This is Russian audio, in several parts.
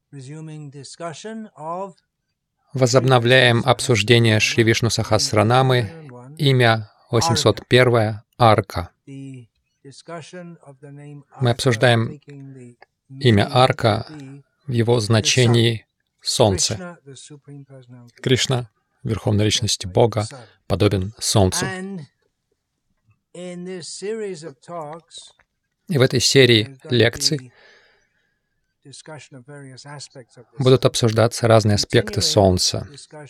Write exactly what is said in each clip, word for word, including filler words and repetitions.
Возобновляем обсуждение Шри Вишну Сахасранамы, имя восемьсот один, Арка. Мы обсуждаем имя Арка в его значении «солнце». Кришна, Верховная Личность Бога, подобен солнцу. И в этой серии лекций будут обсуждаться разные аспекты Солнца.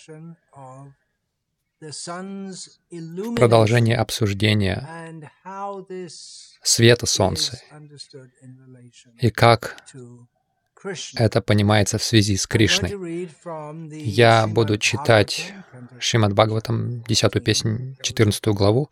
Продолжение обсуждения света Солнца и как это понимается в связи с Кришной. Я буду читать Шримад Бхагаватам, десятую песнь, четырнадцатую главу.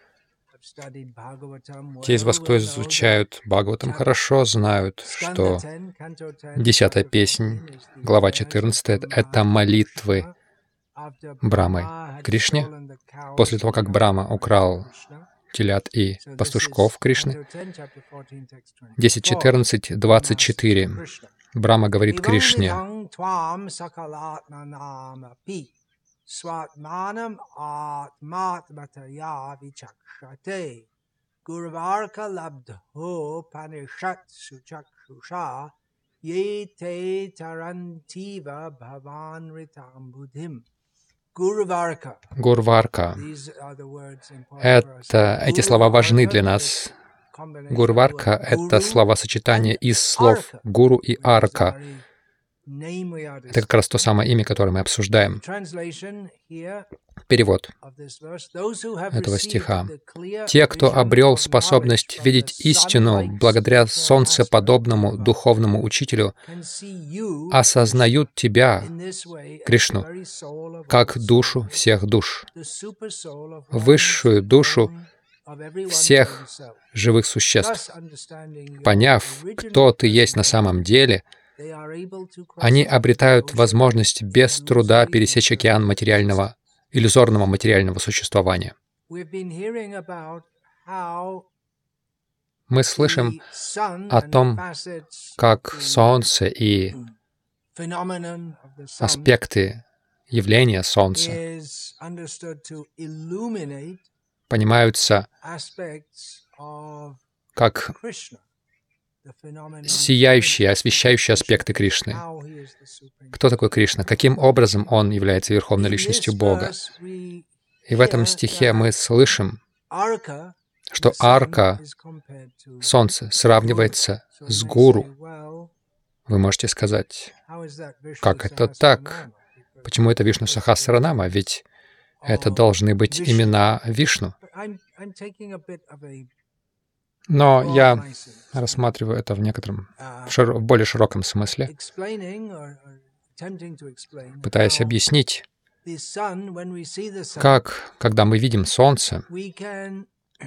Те из вас, кто изучают Бхагаватам хорошо, знают, что десятая песнь, глава четырнадцатая, — это молитвы Брамы Кришне. После того, как Брама украл телят и пастушков Кришны, десять, четырнадцать, двадцать четыре. Брама говорит Кришне: Сватманам атматматая вичакшате гурварка лабдхо панишат сучакшуша ете тарантива бхаван ритам будхим. Гурварка. Гурварка. Это, эти слова важны для нас. Гурварка — это словосочетание из слов гуру и арка. Это как раз то самое имя, которое мы обсуждаем. Перевод этого стиха. «Те, кто обрел способность видеть истину благодаря солнцеподобному духовному учителю, осознают Тебя, Кришну, как душу всех душ, высшую душу всех живых существ. Поняв, кто Ты есть на самом деле, они обретают возможность без труда пересечь океан материального, иллюзорного материального существования». Мы слышим о том, как Солнце и аспекты явления Солнца понимаются как сияющие, освещающие аспекты Кришны. Кто такой Кришна? Каким образом Он является Верховной Личностью Бога? И в этом стихе мы слышим, что арка, Солнце, сравнивается с гуру. Вы можете сказать, как это так? Почему это Вишну Сахасранама? Ведь это должны быть имена Вишну. Но я рассматриваю это в некотором, широ, в более широком смысле, пытаясь объяснить, как, когда мы видим Солнце, мы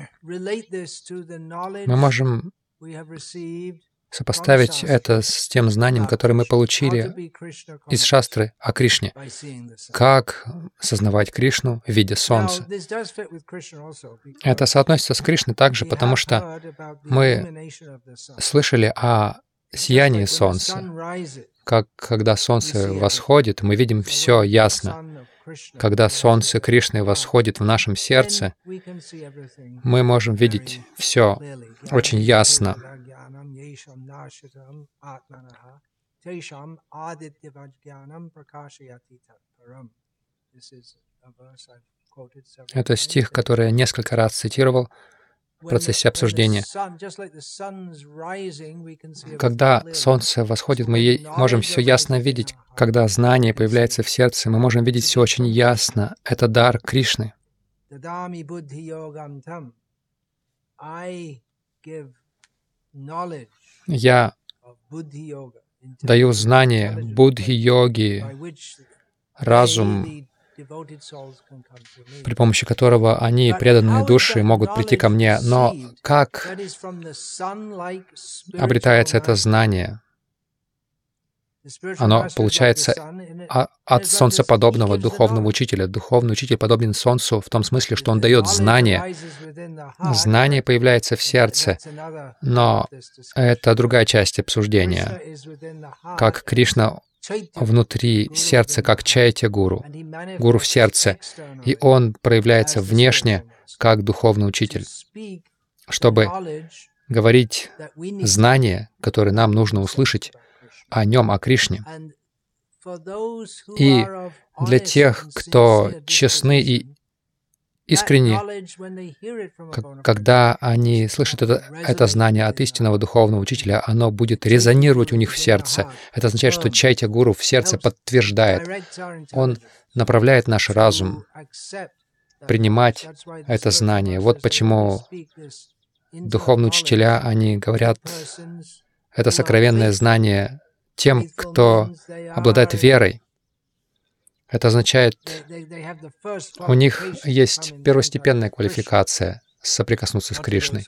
можем сопоставить это с тем знанием, которое мы получили из шастры о Кришне. Как сознавать Кришну, видя Солнце. Это соотносится с Кришной также, потому что мы слышали о сиянии Солнца. Как когда Солнце восходит, мы видим все ясно. Когда Солнце Кришны восходит в нашем сердце, мы можем видеть все очень ясно. Это стих, который я несколько раз цитировал в процессе обсуждения. Когда Солнце восходит, мы можем все ясно видеть. Когда знание появляется в сердце, мы можем видеть все очень ясно. Это дар Кришны. Я даю знание будхи-йоги, разум, при помощи которого они, преданные души, могут прийти ко мне. Но как обретается это знание? оно получается от солнцеподобного духовного учителя. Духовный учитель подобен солнцу в том смысле, что он дает знание. Знание появляется в сердце, но это другая часть обсуждения. Как Кришна внутри сердца, как Чайтя-гуру, гуру в сердце, и он проявляется внешне, как духовный учитель, чтобы говорить знания, которые нам нужно услышать о нем, о Кришне. И для тех, кто честны и искренне, когда они слышат это, это знание от истинного духовного учителя, оно будет резонировать у них в сердце. Это означает, что Чайтя-гуру в сердце подтверждает. Он направляет наш разум принимать это знание. Вот почему духовные учителя, они говорят это сокровенное знание тем, кто обладает верой. Это означает, у них есть первостепенная квалификация соприкоснуться с Кришной.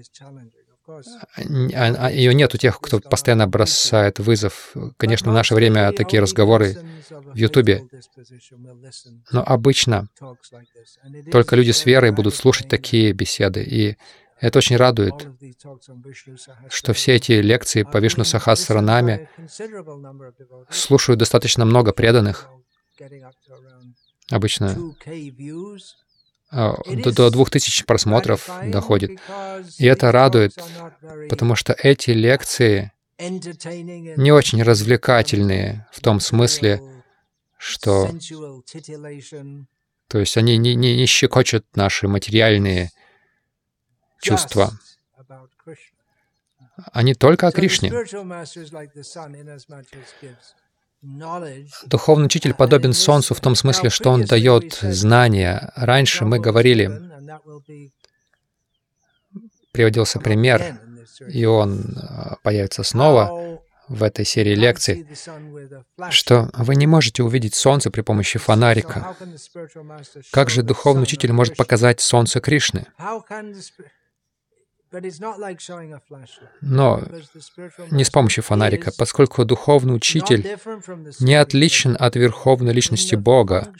Ее нет у тех, кто постоянно бросает вызов. Конечно, в наше время такие разговоры в Ютубе. Но обычно только люди с верой будут слушать такие беседы. И это очень радует, что все эти лекции по Вишну Сахасранаме слушают достаточно много преданных. Обычно до, до двух тысяч просмотров доходит. И это радует, потому что эти лекции не очень развлекательные в том смысле, что... То есть они не, не, не щекочут наши материальные чувства. Они только о Кришне. Духовный учитель подобен солнцу в том смысле, что он дает знания. Раньше мы говорили, приводился пример, и он появится снова в этой серии лекций, что вы не можете увидеть солнце при помощи фонарика. Как же духовный учитель может показать солнце Кришны? Но не с помощью фонарика, поскольку духовный учитель не отличен от верховной личности Бога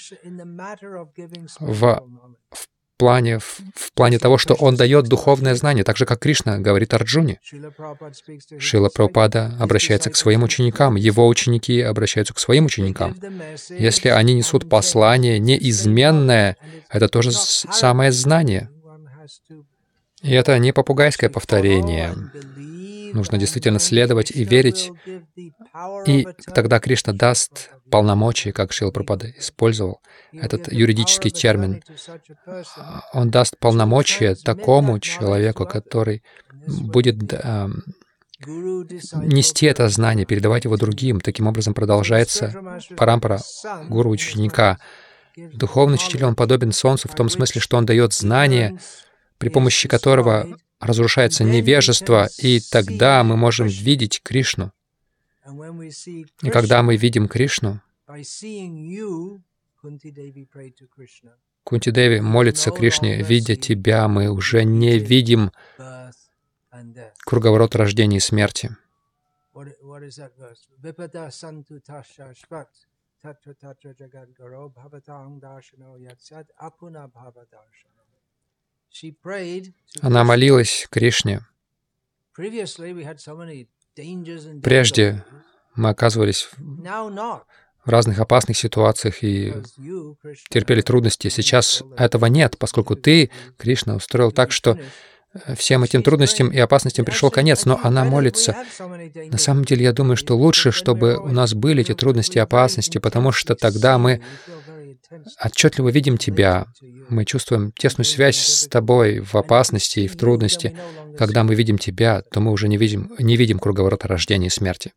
в, в, плане, в, в плане того, что Он дает духовное знание, так же, как Кришна говорит Арджуне. Шрила Прабхупада обращается к своим ученикам, его ученики обращаются к своим ученикам. Если они несут послание неизменное, это тоже самое знание. И это не попугайское повторение. Нужно действительно следовать и верить. И тогда Кришна даст полномочия, как Шрила Прабхупада использовал этот юридический термин. Он даст полномочия такому человеку, который будет э, нести это знание, передавать его другим. Таким образом продолжается парампара гуру-ученика. Духовный учитель, он подобен солнцу в том смысле, что он дает знание, при помощи которого разрушается невежество, и тогда мы можем видеть Кришну. И когда мы видим Кришну, Кунти-деви молится Кришне, видя тебя, мы уже не видим круговорот рождения и смерти. Она молилась Кришне. Прежде мы оказывались в разных опасных ситуациях и терпели трудности. Сейчас этого нет, поскольку ты, Кришна, устроил так, что всем этим трудностям и опасностям пришел конец, но она молится. На самом деле, я думаю, что лучше, чтобы у нас были эти трудности и опасности, потому что тогда мы отчетливо видим тебя, мы чувствуем тесную связь с тобой в опасности и в трудности. Когда мы видим тебя, то мы уже не видим, не видим круговорота рождения и смерти.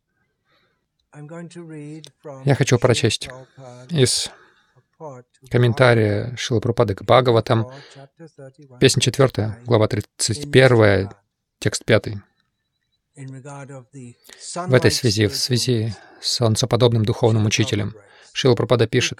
Я хочу прочесть из комментария Шрилы Прабхупады к Бхагаватам, песня четвертая, глава тридцать первая, текст пятый. В этой связи, в связи с солнцеподобным духовным учителем, Шрила Прабхупада пишет,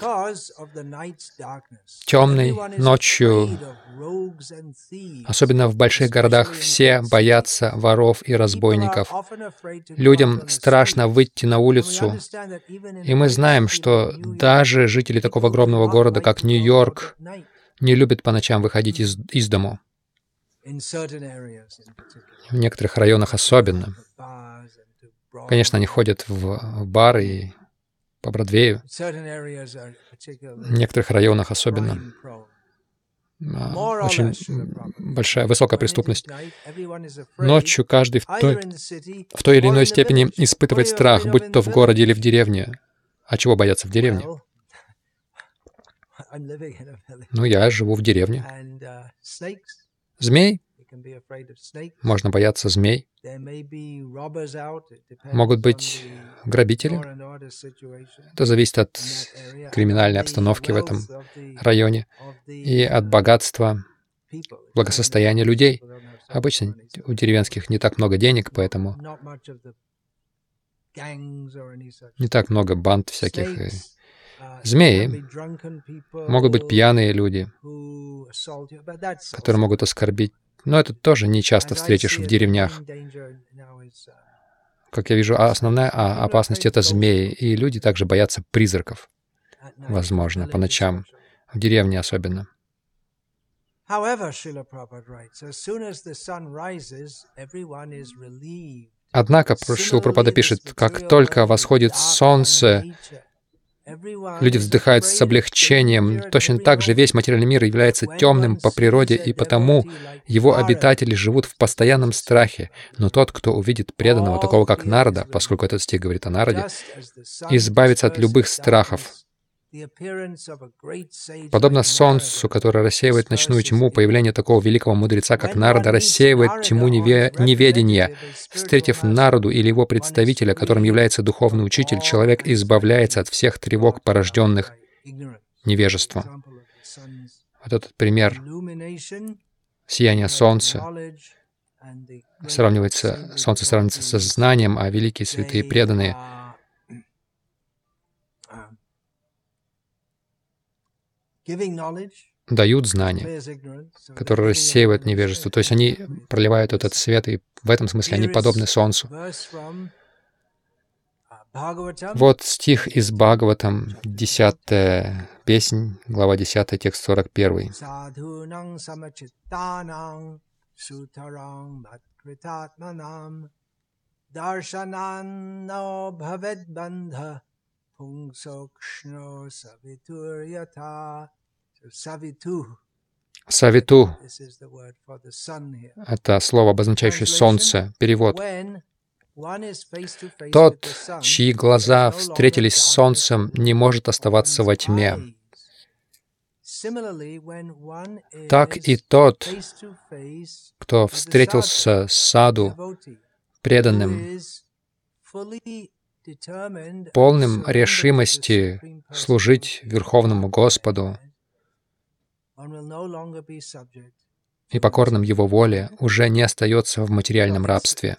темной ночью, особенно в больших городах, все боятся воров и разбойников. Людям страшно выйти на улицу, и мы знаем, что даже жители такого огромного города, как Нью-Йорк, не любят по ночам выходить из, из дому. В некоторых районах особенно. Конечно, они ходят в бары и по Бродвею. В некоторых районах особенно. Очень большая, высокая преступность. Ночью каждый в той, в той или иной степени испытывает страх, будь то в городе или в деревне. А чего бояться в деревне? Ну, я живу в деревне. Змей? Можно бояться змей. Могут быть грабители. Это зависит от криминальной обстановки в этом районе и от богатства, благосостояния людей. Обычно у деревенских не так много денег, поэтому не так много банд всяких. И змеи могут быть пьяные люди, которые могут оскорбить. Но это тоже не часто встретишь в деревнях. Как я вижу, основная опасность — это змеи, и люди также боятся призраков, возможно, по ночам, в деревне особенно. Однако, Шрила Прабхупада пишет, как только восходит солнце, люди вздыхают с облегчением. Точно так же весь материальный мир является темным по природе, и потому его обитатели живут в постоянном страхе. Но тот, кто увидит преданного, такого как Нарада, поскольку этот стих говорит о Нараде, избавится от любых страхов. Подобно солнцу, которое рассеивает ночную тьму, появление такого великого мудреца, как Нарада, рассеивает тьму неве- неведения. Встретив Нараду или его представителя, которым является духовный учитель, человек избавляется от всех тревог, порожденных невежеством. Вот этот пример сияния солнца сравнивается, солнце сравнивается со знанием, а великие святые преданные дают знания, которые рассеивают невежество. То есть они проливают этот свет, и в этом смысле они подобны солнцу. Вот стих из Бхагаватам, десятая песнь, глава десятая, текст сорок первый. Савиту — это слово, обозначающее солнце. Перевод. Тот, чьи глаза встретились с солнцем, не может оставаться во тьме. Так и тот, кто встретился с саду, преданным, полным решимости служить Верховному Господу и покорным Его воле, уже не остается в материальном рабстве.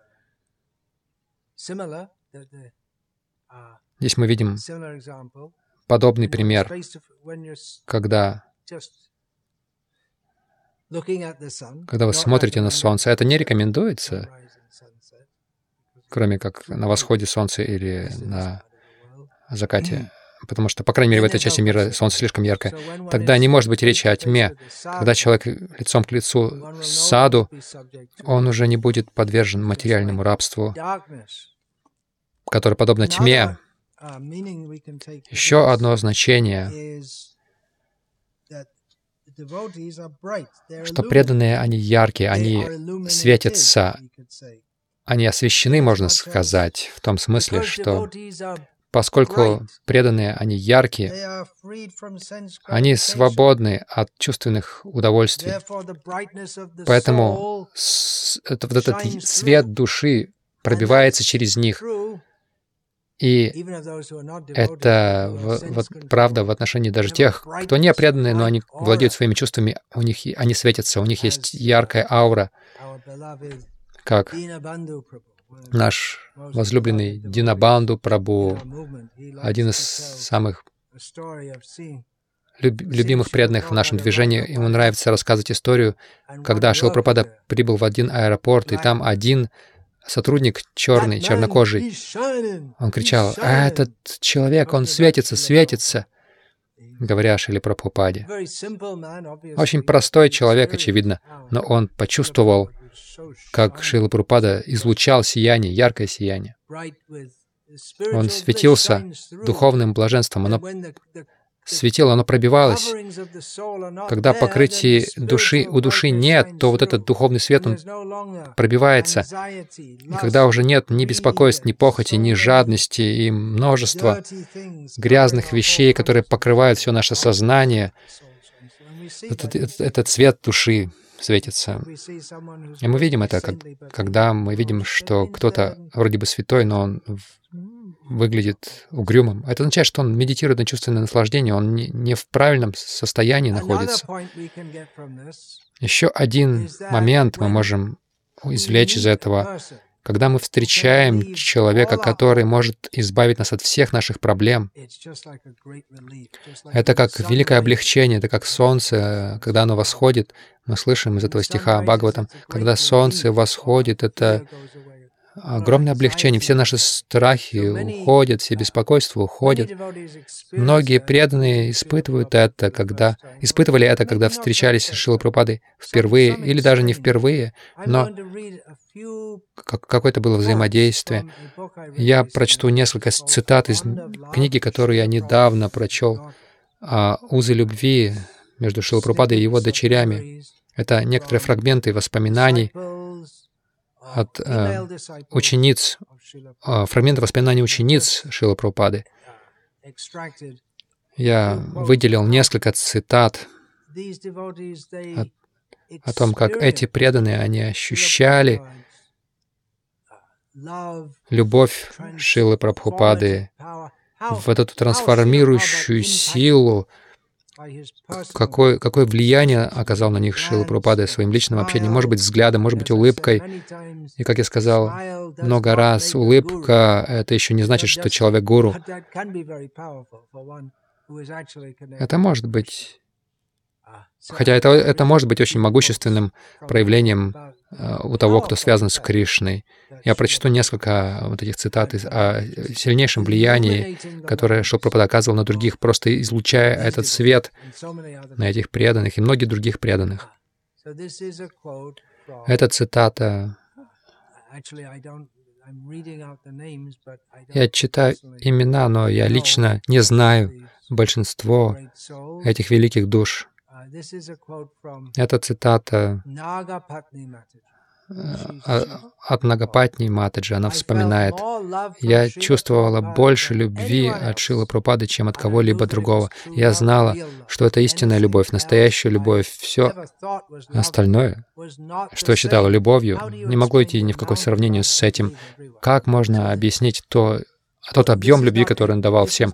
Здесь мы видим подобный пример, когда, когда вы смотрите на солнце. Это не рекомендуется, кроме как на восходе солнца или на закате, потому что, по крайней мере, в этой части мира солнце слишком яркое. Тогда не может быть речи о тьме. Когда человек лицом к лицу с саду, он уже не будет подвержен материальному рабству, которое подобно тьме. Еще одно значение, что преданные, они яркие, они светятся, они освещены, можно сказать, в том смысле, что поскольку преданные, они яркие, они свободны от чувственных удовольствий. Поэтому это, вот этот свет души пробивается через них. И это вот, правда в отношении даже тех, кто не преданные, но они владеют своими чувствами, у них, они светятся, у них есть яркая аура, как наш возлюбленный Динабанду Прабху, один из самых люб любимых преданных в нашем движении. Ему нравится рассказывать историю, когда Шрила Прабхупада прибыл в один аэропорт, и там один сотрудник черный, чернокожий, он кричал: «А этот человек, он светится, светится», говоря о Шриле Прабхупаде. Очень простой человек, очевидно, но он почувствовал, как Шрила Прабхупада излучал сияние, яркое сияние. Он светился духовным блаженством, оно светило, оно пробивалось. Когда покрытия души, у души нет, то вот этот духовный свет, он пробивается. И когда уже нет ни беспокойств, ни похоти, ни жадности и множества грязных вещей, которые покрывают все наше сознание, этот, этот, этот цвет души светится. И мы видим это, как, когда мы видим, что кто-то вроде бы святой, но он выглядит угрюмым. Это означает, что он медитирует на чувственное наслаждение, он не, не в правильном состоянии находится. Еще один момент мы можем извлечь из этого. Когда мы встречаем человека, который может избавить нас от всех наших проблем, это как великое облегчение, это как солнце, когда оно восходит. Мы слышим из этого стиха Бхагаватам, когда солнце восходит, это огромное облегчение, все наши страхи уходят, все беспокойства уходят. Многие преданные испытывают это, когда испытывали это, когда встречались с Шрилой Прабхупадой впервые, или даже не впервые, но какое-то было взаимодействие. Я прочту несколько цитат из книги, которую я недавно прочел, «Узы любви» между Шрилой Прабхупадой и его дочерями. Это некоторые фрагменты воспоминаний от э, учениц, э, фрагменты воспоминаний учениц Шрилы Прабхупады. Я выделил несколько цитат о, о том, как эти преданные, они ощущали любовь Шрилы Прабхупады, в эту трансформирующую силу, Какое, какое влияние оказал на них Шрила Прабхупада своим личным общением, может быть, взглядом, может быть, улыбкой. И, как я сказал много раз, улыбка — это еще не значит, что человек гуру. Это может быть... Хотя это, это может быть очень могущественным проявлением uh, у того, кто связан с Кришной. Я прочту несколько вот этих цитат о сильнейшем влиянии, которое Шрила Прабхупада оказывал на других, просто излучая этот свет на этих преданных и многих других преданных. Это цитата... Я читаю имена, но я лично не знаю большинство этих великих душ. Это цитата от Нагапатни Матаджи. Она вспоминает: «Я чувствовала больше любви от Шрилы Прабхупады, чем от кого-либо другого. Я знала, что это истинная любовь, настоящая любовь. Все остальное, что я считала любовью, не могло идти ни в какое сравнение с этим. Как можно объяснить то, тот объем любви, который он давал всем?»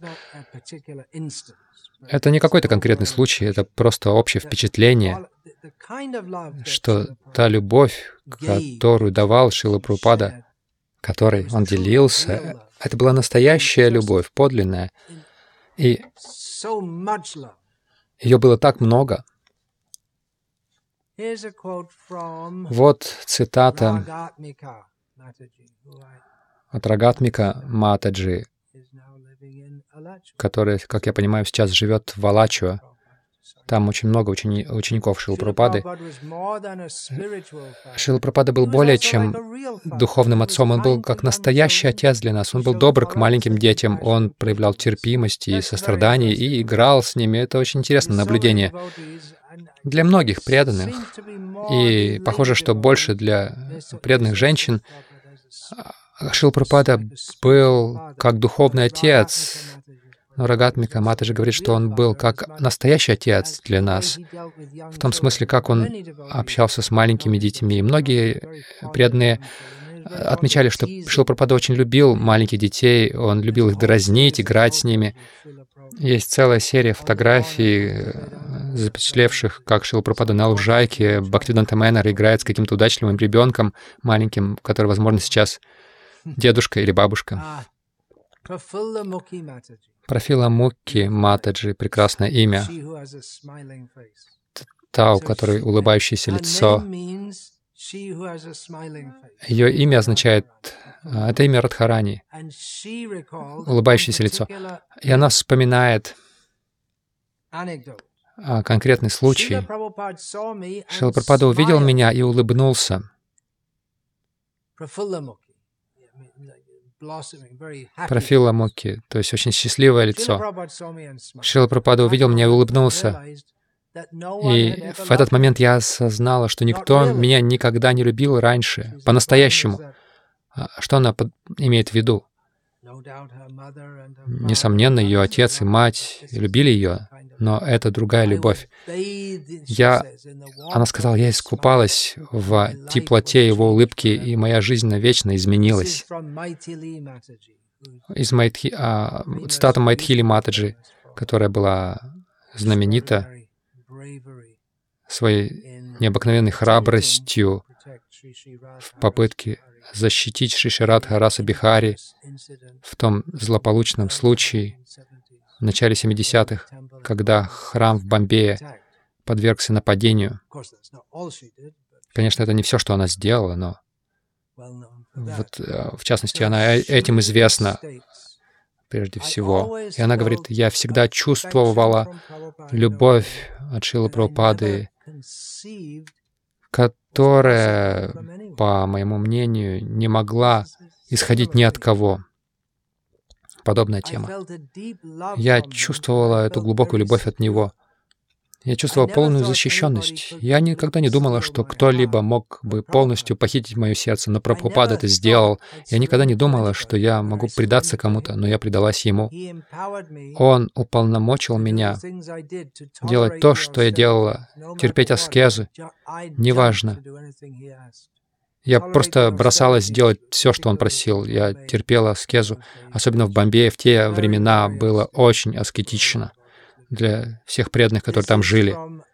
Это не какой-то конкретный случай, это просто общее впечатление, что та любовь, которую давал Шрила Прабхупада, которой он делился, это была настоящая любовь, подлинная. И ее было так много. Вот цитата от Рагатмика Матаджи, который, как я понимаю, сейчас живет в Алачуа. Там очень много учени учеников Шрилы Прабхупады. Шрила Прабхупада был более чем духовным отцом, он был как настоящий отец для нас. Он был добр к маленьким детям, он проявлял терпимость и сострадание и играл с ними. Это очень интересное наблюдение для многих преданных. И похоже, что больше для преданных женщин. Шрила Прабхупада был как духовный отец. Но Рагатмика Матаджи говорит, что он был как настоящий отец для нас, в том смысле, как он общался с маленькими детьми. И многие преданные отмечали, что Шрила Прабхупада очень любил маленьких детей, он любил их дразнить, играть с ними. Есть целая серия фотографий, запечатлевших, как Шрила Прабхупада на лужайке Бхактивиданта Мэннер играет с каким-то удачливым ребенком маленьким, который, возможно, сейчас дедушка или бабушка. Профила Мукхи Матаджи, прекрасное имя. Та, у которой улыбающееся лицо. Ее имя означает, это имя Радхарани, улыбающееся лицо. И она вспоминает конкретный случай. Шрила Прабхупада увидел меня и улыбнулся. Профила Мукхи, то есть очень счастливое лицо. Шрила Прабхупада увидел меня и улыбнулся. И в этот момент я осознала, что никто меня никогда не любил раньше, по-настоящему. Что она под... имеет в виду? Несомненно, ее отец и мать любили ее, но это другая любовь. Я... Она сказала, я искупалась в теплоте его улыбки, и моя жизнь навечно изменилась. Из Майтхи... а, цитата Майтхили Матаджи, которая была знаменита своей необыкновенной храбростью в попытке защитить Шри Шри Радха Раса Бихари в том злополучном случае в начале семидесятых, когда храм в Бомбее подвергся нападению. Конечно, это не все, что она сделала, но вот, в частности, она этим известна прежде всего. И она говорит, я всегда чувствовала любовь от Шрилы Прабхупады, которая, по моему мнению, не могла исходить ни от кого. Подобная тема. Я чувствовала эту глубокую любовь от Него. Я чувствовала полную защищенность. Я никогда не думала, что кто-либо мог бы полностью похитить мое сердце, но Прабхупада это сделал. Я никогда не думала, что я могу предаться кому-то, но я предалась Ему. Он уполномочил меня делать то, что я делала, терпеть аскезы, неважно. Я просто бросалась делать все, что Он просил. Я терпела аскезу. Особенно в Бомбее в те времена было очень аскетично для всех преданных, которые там жили.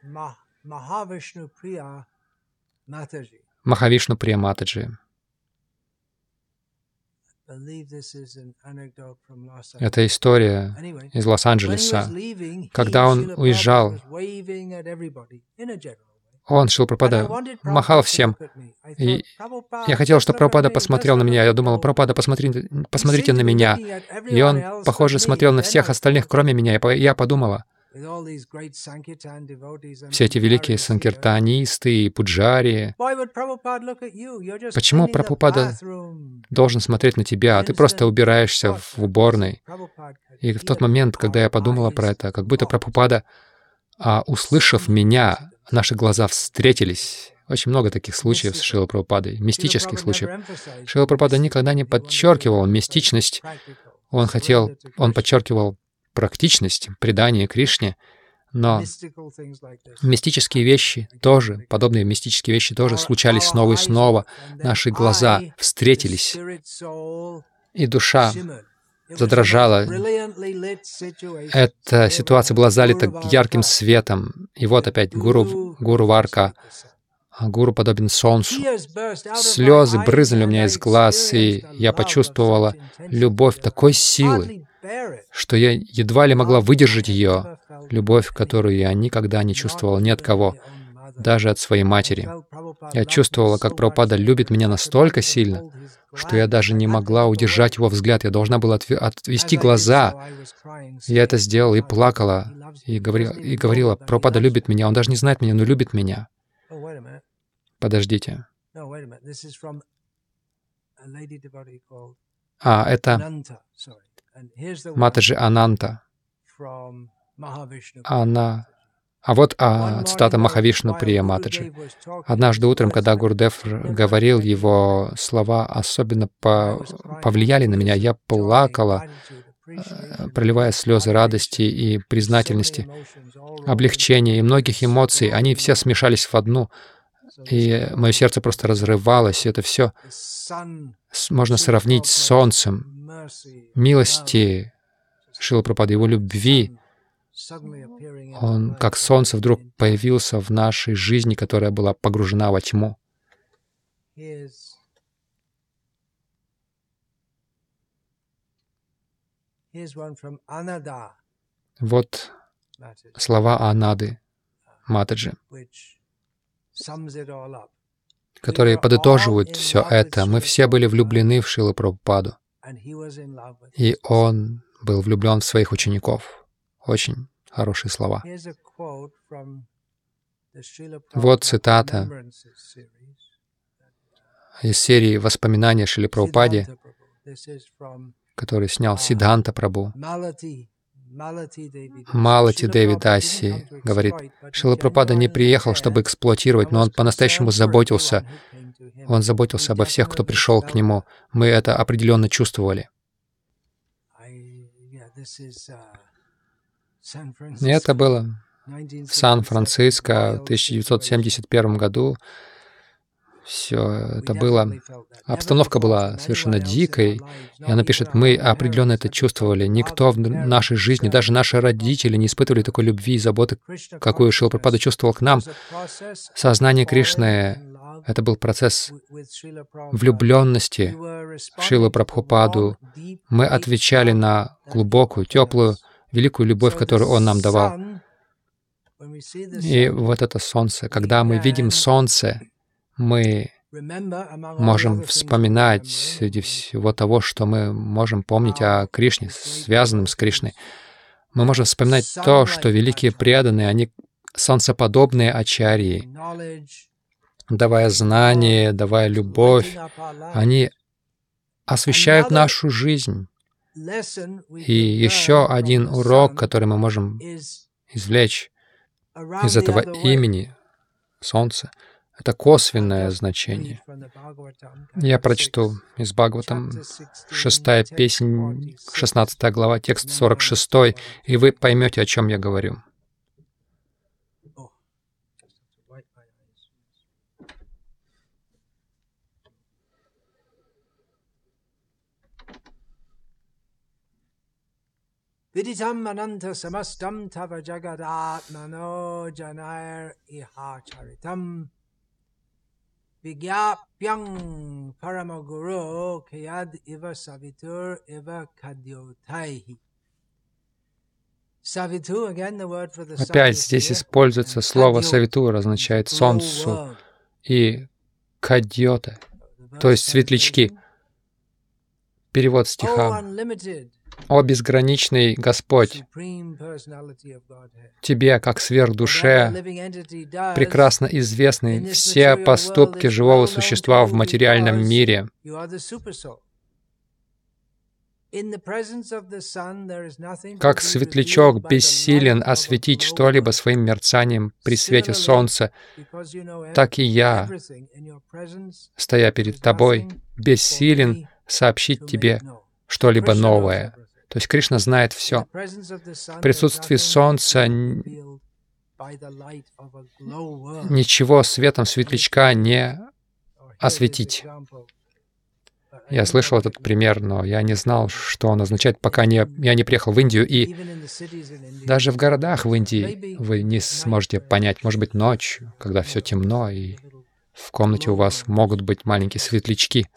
Махавишну Прия Матаджи. Это история из Лос-Анджелеса. Когда он уезжал, он, Шрила Прабхупада, махал всем. И я хотел, чтобы Прабхупада посмотрел на меня. Я думал, Прабхупада, посмотри, посмотрите на меня. И он, похоже, смотрел на всех остальных, кроме меня. И я подумала, все эти великие санкиртанисты и пуджари, почему Прабхупада должен смотреть на тебя, а ты просто убираешься в уборной? И в тот момент, когда я подумала про это, как будто Прабхупада, а, услышав меня, наши глаза встретились. Очень много таких случаев с Шрилой Прабхупадой, мистических случаев. Шрила Прабхупада никогда не подчеркивал мистичность. Он хотел, он подчеркивал практичность, предание Кришне, но мистические вещи тоже, подобные мистические вещи тоже случались снова и снова. Наши глаза встретились, и душа задрожала. Эта ситуация была залита ярким светом. И вот опять Гуру, Гуру Варка. Гуру подобен солнцу. Слезы брызнули у меня из глаз, и я почувствовала любовь такой силы, что я едва ли могла выдержать ее. Любовь, которую я никогда не чувствовала ни от кого, даже от своей матери. Я чувствовала, как Прабхупада любит меня настолько сильно, что я даже не могла удержать его взгляд. Я должна была отвести глаза. Я это сделала и плакала, и говорила, и говорила, Прабхупада любит меня, он даже не знает меня, но любит меня. Подождите. А, это Матаджи Ананта. Она... А вот а, цитата Махавишну Прия Матаджи. Однажды утром, когда Гурудев говорил, его слова особенно по... повлияли на меня. Я плакала, проливая слезы радости и признательности, облегчения и многих эмоций. Они все смешались в одну, и мое сердце просто разрывалось. Это все можно сравнить с солнцем, милости Шрилы Прабхупады, его любви. Он, как солнце, вдруг появился в нашей жизни, которая была погружена во тьму. Вот слова Анады Матаджи, которые подытоживают все это. Мы все были влюблены в Шрилу Прабхупаду, и он был влюблен в своих учеников. Очень хорошие слова. Вот цитата из серии «Воспоминания о Шриле Прабхупаде», который снял Сиддханта Прабху. Малати Деви Даси говорит, Шрила Прабхупада не приехал, чтобы эксплуатировать, но он по-настоящему заботился. Он заботился обо всех, кто пришел к нему. Мы это определенно чувствовали. И это было в Сан-Франциско в тысяча девятьсот семьдесят первом году. Все это было... Обстановка была совершенно дикой. И она пишет, мы определенно это чувствовали. Никто в нашей жизни, даже наши родители не испытывали такой любви и заботы, какую Шрила Прабхупада чувствовал к нам. Сознание Кришны — это был процесс влюбленности в Шрилу Прабхупаду. Мы отвечали на глубокую, теплую, великую любовь, которую Он нам давал. И вот это солнце. Когда мы видим солнце, мы можем вспоминать среди всего того, что мы можем помнить о Кришне, связанном с Кришной. Мы можем вспоминать то, что великие преданные, они солнцеподобные ачарьи, давая знания, давая любовь, они освещают нашу жизнь. И еще один урок, который мы можем извлечь из этого имени Солнце, это косвенное значение. Я прочту из Бхагаватам, шестая песнь, шестнадцатая глава, текст сорок шестой, и вы поймете, о чем я говорю. Viditam ananta samastam tava jagadatmano janair ihacharitam vigyapyang paramaguru kayad iva savitur iva kadyotaihi. Опять здесь используется слово «савитур», означает «солнцу», и «кадьота», то есть «светлячки». Перевод стиха. «О безграничный Господь, Тебе, как сверхдуше, прекрасно известны все поступки живого существа в материальном мире. Как светлячок бессилен осветить что-либо своим мерцанием при свете солнца, так и я, стоя перед Тобой, бессилен сообщить Тебе что-либо новое». То есть Кришна знает все. В присутствии солнца ничего светом светлячка не осветить. Я слышал этот пример, но я не знал, что он означает, пока не, я не приехал в Индию. И даже в городах в Индии вы не сможете понять, может быть, ночью, когда все темно, и в комнате у вас могут быть маленькие светлячки.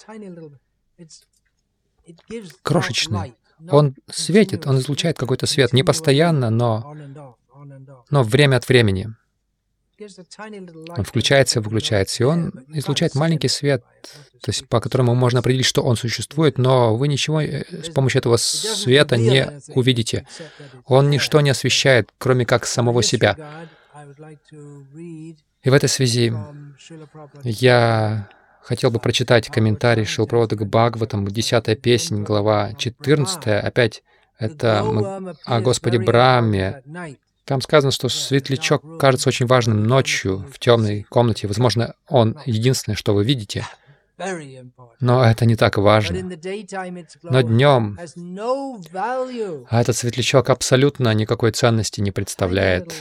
Крошечные. Он светит, он излучает какой-то свет, не постоянно, но, но время от времени. Он включается и выключается, и он излучает маленький свет, то есть по которому можно определить, что он существует, но вы ничего с помощью этого света не увидите. Он ничто не освещает, кроме как самого себя. И в этой связи я хотел бы прочитать комментарий Шрилы Прабхупады к Бхагаватам, десятая песнь, глава четырнадцатая. Опять это о Господе Брахме. Там сказано, что светлячок кажется очень важным ночью в темной комнате. Возможно, он единственное, что вы видите. Но это не так важно. Но днем этот светлячок абсолютно никакой ценности не представляет.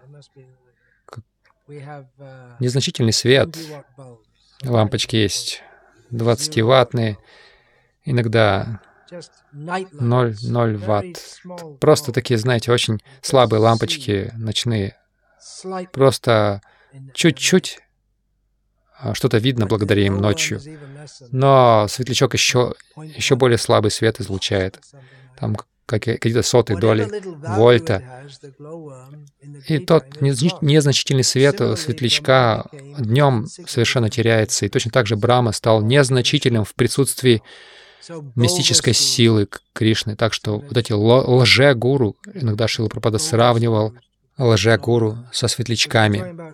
Незначительный свет. Лампочки есть двадцативаттные, иногда ноль ноль ватт. Просто такие, знаете, очень слабые лампочки ночные. Просто чуть-чуть что-то видно благодаря им ночью. Но светлячок еще, еще более слабый свет излучает. Там какие-то сотые доли вольта. И тот незначительный свет светлячка днем совершенно теряется. И точно так же Брахма стал незначительным в присутствии мистической силы Кришны. Так что вот эти лже-гуру, иногда Шрила Прабхупада сравнивал лже-гуру со светлячками.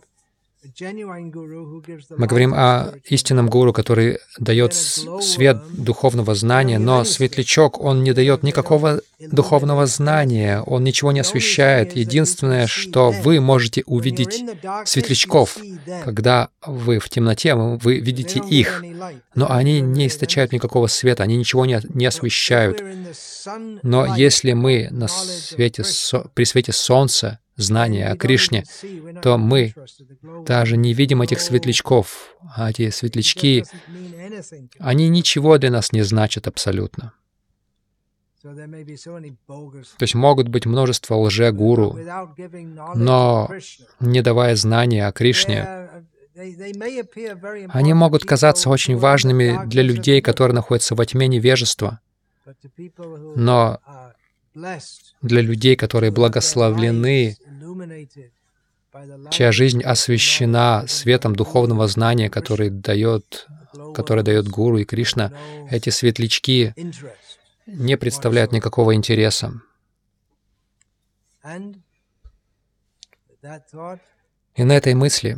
Мы говорим о истинном гуру, который дает свет духовного знания, но светлячок, он не дает никакого духовного знания, он ничего не освещает. Единственное, что вы можете увидеть светлячков, когда вы в темноте, вы видите их, но они не источают никакого света, они ничего не, не освещают. Но если мы на свете, при свете солнца, знания о Кришне, то мы даже не видим этих светлячков. А эти светлячки, они ничего для нас не значат абсолютно. То есть могут быть множество лже-гуру, но не давая знания о Кришне, они могут казаться очень важными для людей, которые находятся во тьме невежества. Но для людей, которые благословлены, чья жизнь освещена светом духовного знания, который дает, который дает Гуру и Кришна, эти светлячки не представляют никакого интереса. И на этой мысли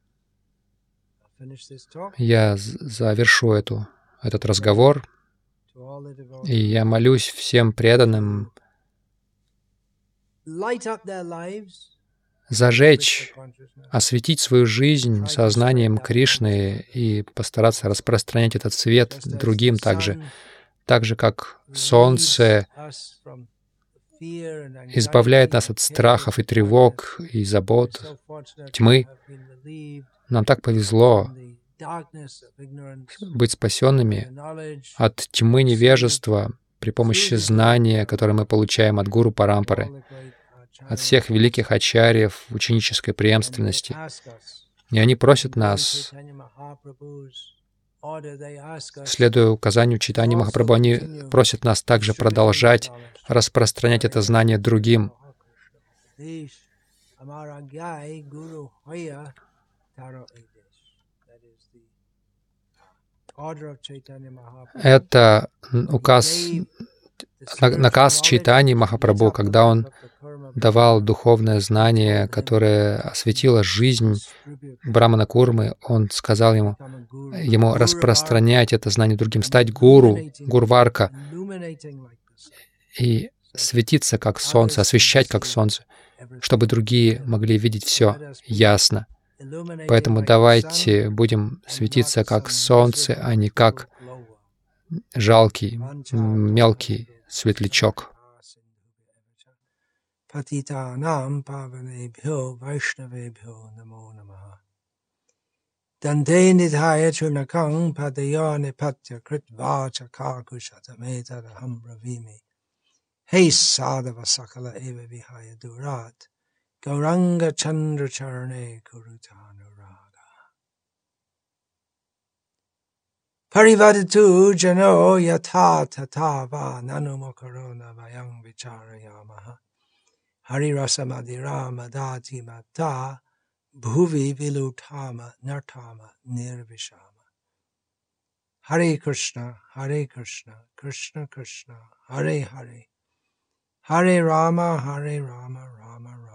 я завершу эту, этот разговор, и я молюсь всем преданным зажечь, осветить свою жизнь сознанием Кришны и постараться распространять этот свет другим также. Так же, как солнце избавляет нас от страхов и тревог и забот, тьмы. Нам так повезло быть спасенными от тьмы невежества при помощи знания, которое мы получаем от Гуру Парампары, от всех великих ачарьев в ученической преемственности. И они просят нас, следуя указанию Чайтаньи Махапрабху, они просят нас также продолжать распространять это знание другим. Это указ, наказ Чайтаньи Махапрабху, когда он давал духовное знание, которое осветило жизнь Брамана Курмы, он сказал ему, ему распространять это знание другим, стать гуру, гурварка, и светиться как солнце, освещать как солнце, чтобы другие могли видеть все ясно. Поэтому давайте будем светиться как солнце, а не как жалкий, мелкий светлячок. Patitanam pavanebhyo vaishnavebhyo namo namaha. Dante nidhaya chunakang padayo nipatya kritva chakakushatameta bravimi. Hey sadhava sakala eva vihaya durat. Gauranga chandra charane kurutanuraga. Parivadatu jano yatha tatava nanumakarona vayang vicharayamaha. Hari rasa madhira madati mata bhuvi vilutama nartama nirvishama. Hare Krishna, Hare Krishna, Krishna Krishna, Hare Hare. Hare Rama, Hare Rama, Rama Rama.